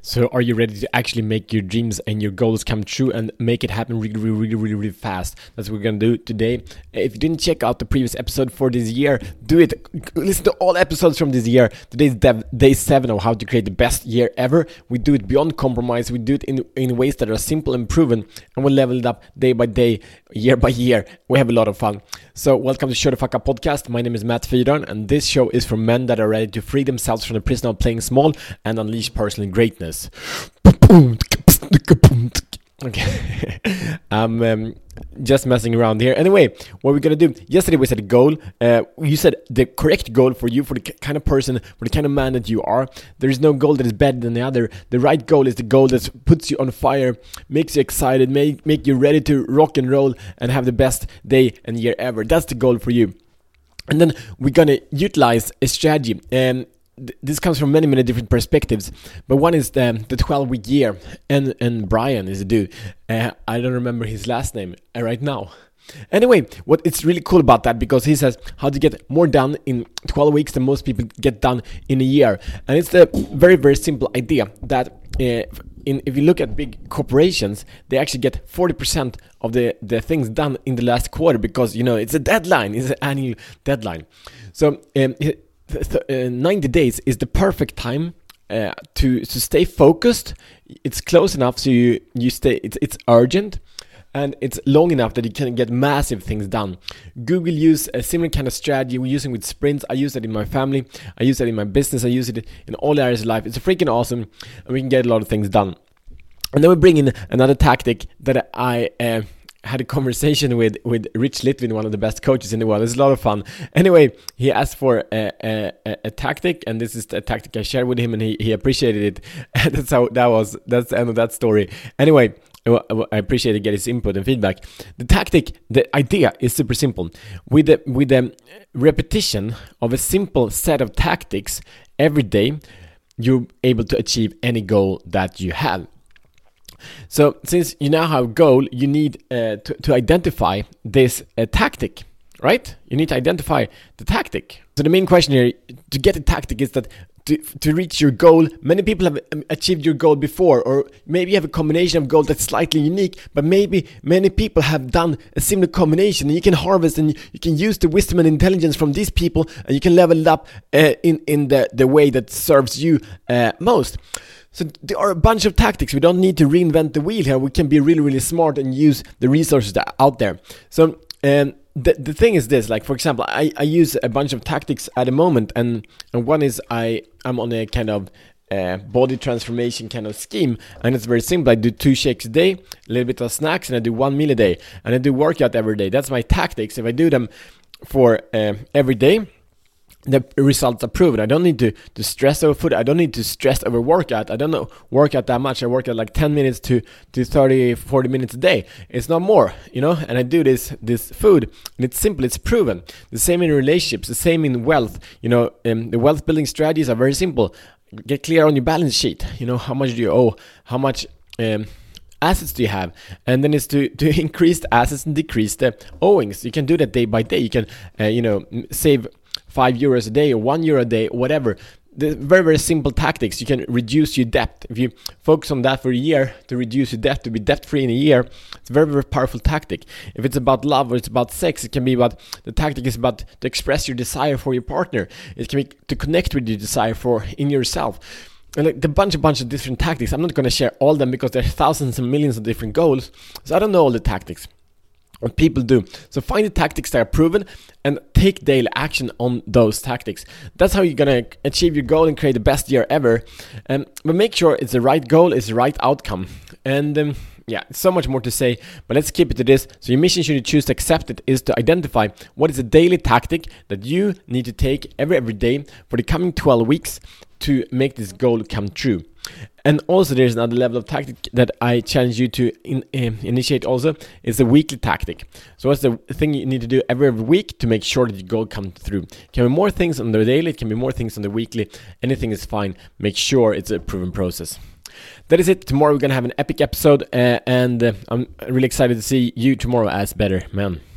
So are you ready to actually make your dreams and your goals come true and make it happen really fast? That's what we're going to do today. If you didn't check out the previous episode for this year, do it. Listen to all episodes from this year. Today's day 7 of how to create the best year ever. We do it beyond compromise. We do it in ways that are simple and proven, and we level it up day by day, year by year. We have a lot of fun. So welcome to Show the Fuck Up podcast. My name is Matt Fyron, and this show is for men that are ready to free themselves from the prison of playing small and unleash personal greatness. Okay, I'm just messing around here. Anyway, what we're gonna do, yesterday we set a goal. You said the correct goal for you, for the kind of person, for the kind of man that you are. There is no goal that is better than the other. The right goal is the goal that puts you on fire, makes you excited, make you ready to rock and roll and have the best day and year ever. That's the goal for you. And then we're gonna utilize a strategy. This comes from many different perspectives, but one is the 12-week year, and Brian is a dude. I don't remember his last name right now. Anyway, what it's really cool about that, because he says how to get more done in 12 weeks than most people get done in a year. And it's the very simple idea that if you look at big corporations, they actually get 40% of the things done in the last quarter, because it's a deadline, it's an annual deadline. So 90 days is the perfect time to stay focused. It's close enough so you stay. It's urgent, and it's long enough that you can get massive things done. Google use a similar kind of strategy we're using with sprints. I use it in my family. I use it in my business. I use it in all areas of life. It's freaking awesome, and we can get a lot of things done. And then we bring in another tactic that I had a conversation with Rich Litvin, one of the best coaches in the world. It's a lot of fun. Anyway, he asked for a tactic, and this is the tactic I shared with him, and he appreciated it. That's the end of that story. Anyway, I appreciate to get his input and feedback. The idea is super simple. With the repetition of a simple set of tactics every day, you're able to achieve any goal that you have. So since you now have a goal, you need to identify this tactic, right? You need to identify the tactic. So the main question here to get a tactic is that to reach your goal, many people have achieved your goal before, or maybe you have a combination of goals that's slightly unique, but maybe many people have done a similar combination, and you can harvest and you can use the wisdom and intelligence from these people, and you can level it up in the way that serves you most. So there are a bunch of tactics. We don't need to reinvent the wheel here. We can be really smart and use the resources that are out there. So the thing is this, like for example, I use a bunch of tactics at the moment, and one is I'm on a kind of body transformation kind of scheme, and it's very simple. I do 2 shakes a day, a little bit of snacks, and I do 1 meal a day, and I do workout every day. That's my tactics. If I do them for every day, the results are proven. I don't need to stress over food. I don't need to stress over workout. I don't work out that much. I work out like 10 minutes to 30, 40 minutes a day. It's not more, and I do this food, and it's simple. It's proven. The same in relationships, the same in wealth. The wealth building strategies are very simple. Get clear on your balance sheet. How much do you owe? How much assets do you have? And then it's to increase the assets and decrease the owings. You can do that day by day. You can save €5 a day or €1 a day, whatever. The very simple tactics. You can reduce your debt. If you focus on that for a year, to reduce your debt, to be debt free in a year, it's a very powerful tactic. If it's about love or it's about sex, it can be about, the tactic is about to express your desire for your partner. It can be to connect with your desire for in yourself. And like the bunch of different tactics. I'm not going to share all of them because there are thousands and millions of different goals. So I don't know all the tactics. What people do. So find the tactics that are proven and take daily action on those tactics. That's how you're going to achieve your goal and create the best year ever. But make sure it's the right goal, it's the right outcome. And so much more to say, but let's keep it to this. So your mission, should you choose to accept it, is to identify what is a daily tactic that you need to take every day for the coming 12 weeks to make this goal come true. And also there's another level of tactic that I challenge you to initiate also. It's a weekly tactic. So what's the thing you need to do every week to make sure that your goal comes through? It can be more things on the daily, it can be more things on the weekly. Anything is fine. Make sure it's a proven process. That is it. Tomorrow we're going to have an epic episode, and I'm really excited to see you tomorrow as better man.